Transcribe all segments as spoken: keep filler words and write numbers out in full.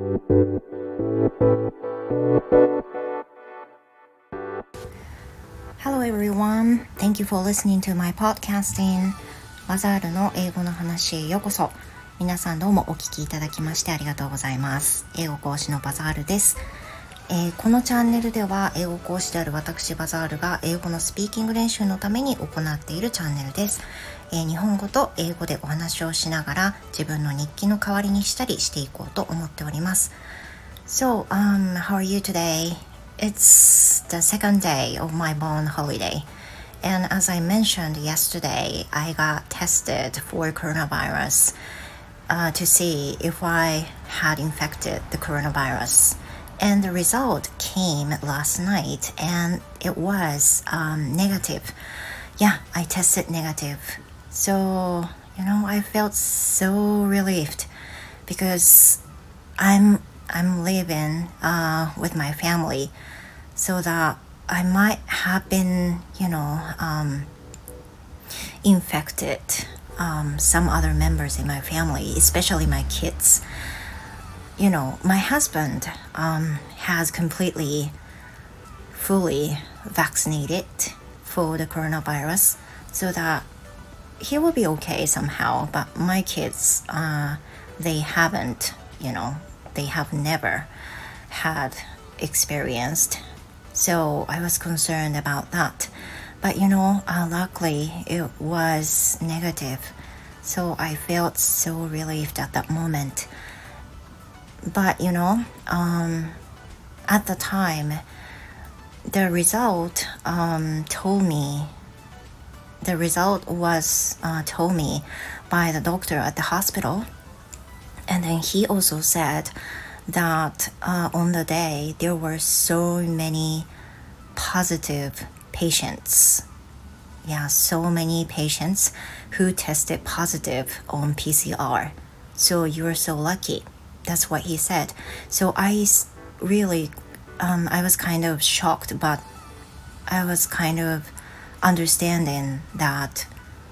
Hello everyone. Thank you for listening to my podcasting. バザールの英語の話へようこそ。皆さんどうもお聞きいただきましてありがとうございます。英語講師のバザールです。えー、このチャンネルでは英語講師である私バザールが英語のスピーキング練習のために行っているチャンネルです。えー、日本語と英語でお話をしながら自分の日記の代わりにしたりしていこうと思っております。So, um, how are you today? It's the second day of my born holiday. And as I mentioned yesterday, I got tested for coronavirus uh, to see if I had infected the coronavirus.And the result came last night and it was um, negative. Yeah, I tested negative. So, you know, I felt so relieved because I'm, I'm living uh, with my family so that I might have been, you know, um, infected um, some other members in my family, especially my kids.You know, my husband um, has completely, fully vaccinated for the coronavirus so that he will be okay somehow. But my kids, uh, they haven't, you know, they have never had experienced. So I was concerned about that. But, you know, uh, luckily it was negative. So I felt so relieved at that moment.But, you know, um, at the time, the result um, told me, the result was uh, told me by the doctor at the hospital. And then he also said that uh, on the day, there were so many positive patients. Yeah, so many patients who tested positive on P C R. So you are so lucky.That's what he said. So I really, um, I was kind of shocked, but I was kind of understanding that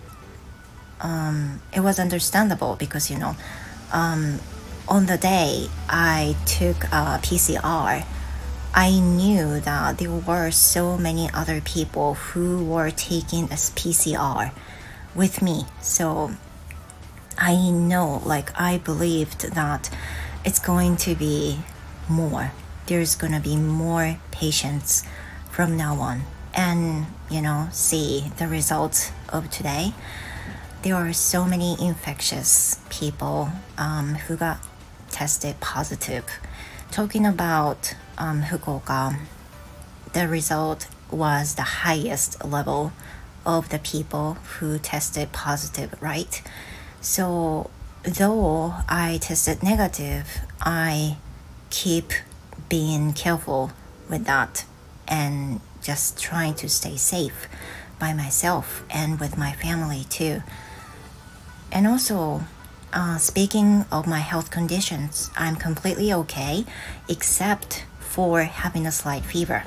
um, it was understandable because, you know, um, on the day I took a P C R, I knew that there were so many other people who were taking a P C R with me. So I know, like, I believed that it's going to be more. There's going to be more patients from now on. And, you know, see the results of today. There are so many infectious people um, who got tested positive. Talking about um, Fukuoka, the result was the highest level of the people who tested positive, right? So though I tested negative, I keep being careful with that and just trying to stay safe by myself and with my family too. And also, uh, speaking of my health conditions, I'm completely okay except for having a slight fever.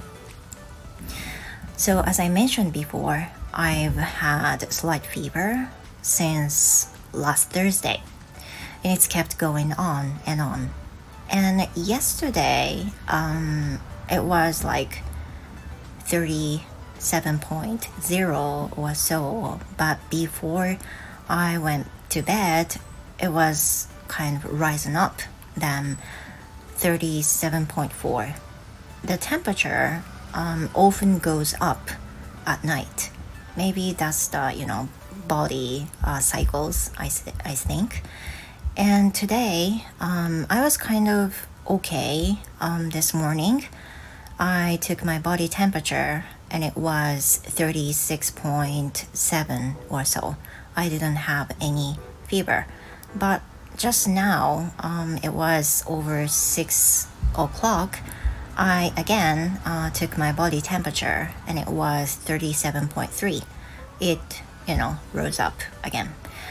So as I mentioned before, I've had slight fever since last Thursday.And it's kept going on and on. And yesterday, um, it was like thirty-seven point zero or so. But before I went to bed, it was kind of rising up, then thirty-seven point four. The temperature um, often goes up at night. Maybe that's the, you know, body uh, cycles, I, I think.And today, um, I was kind of okay um, this morning. I took my body temperature and it was thirty-six point seven or so. I didn't have any fever. But just now, um, it was over six o'clock. I again uh, took my body temperature and it was thirty-seven point three. It, you know, rose up again.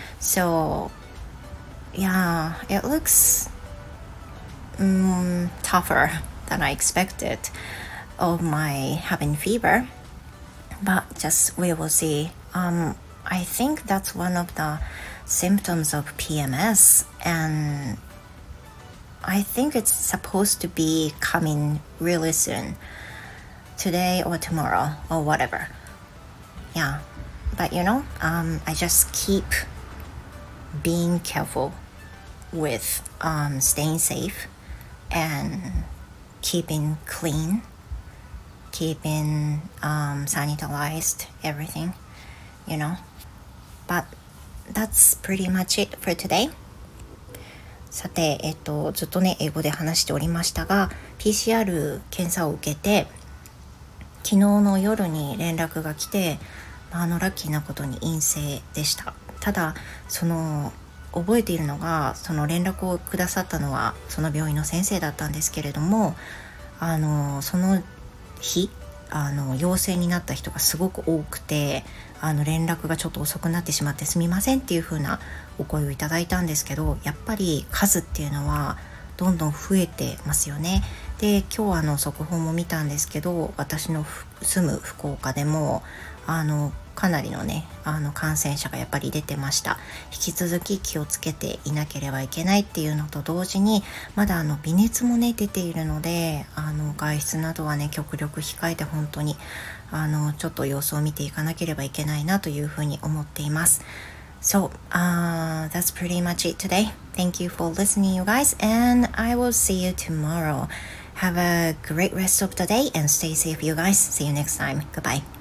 So...Yeah, it looks um, tougher than I expected of my having fever, but just we will see. Um, I think that's one of the symptoms of P M S, and I think it's supposed to be coming really soon, today or tomorrow or whatever. Yeah, but you know, um, I just keep being careful with um, staying safe and keeping clean, keeping um, sanitized everything, you know. But that's pretty much it for today. さて、えっと、ずっとね、英語で話しておりましたが、ピーシーアール 検査を受けて、昨日の夜に連絡が来て、あのラッキーなことに陰性でした。ただ、その覚えているのが、その連絡をくださったのはその病院の先生だったんですけれども、あのその日あの陽性になった人がすごく多くて、あの連絡がちょっと遅くなってしまってすみませんっていう風なお声をいただいたんですけど、やっぱり数っていうのはどんどん増えてますよね。で、今日あの速報も見たんですけど、私の住む福岡でもあのかなりのねあの感染者がやっぱり出てました。引き続き気をつけていなければいけないっていうのと同時に、まだあの微熱もね出ているので、あの外出などはね極力控えて、本当にあのちょっと様子を見ていかなければいけないなというふうに思っています。So, uh, that's pretty much it today. Thank you for listening, you guys, and I will see you tomorrow. Have a great rest of the day and stay safe, you guys. See you next time. Goodbye.